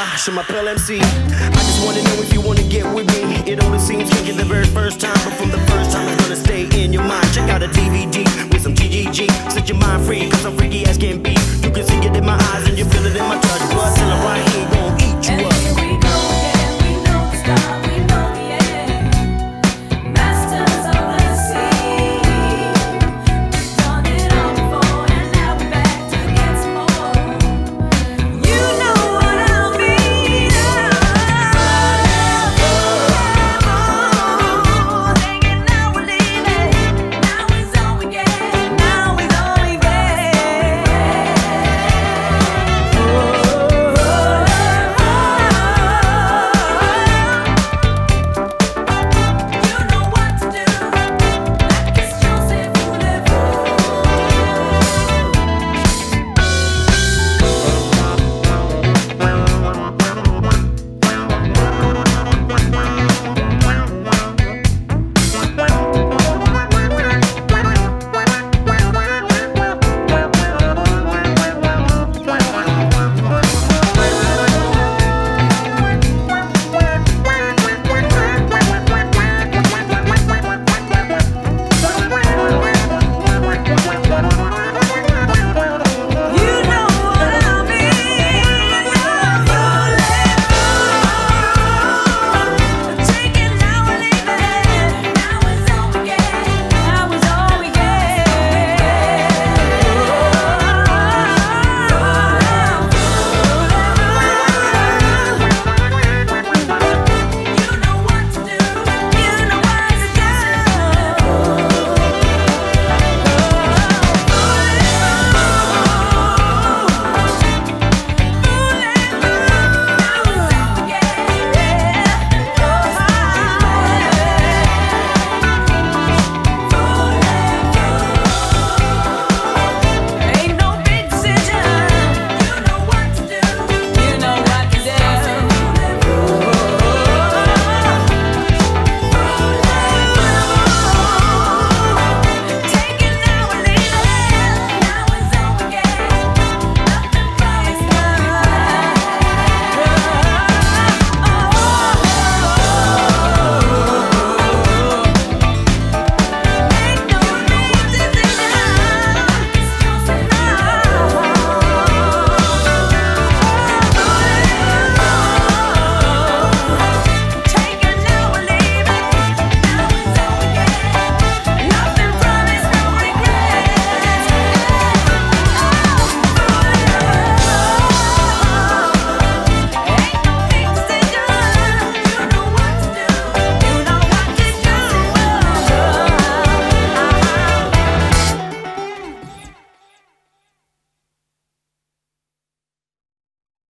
je m'appelle MC. I just wanna know if you wanna get with me. It only seems kinky the very first time, but from the first time it's gonna stay in your mind. Check out a DVD with some GGG. Set your mind free, cause I'm freaky as can be. You can see it in my eyes and you feel it in my touch. But till I'm right here, gon'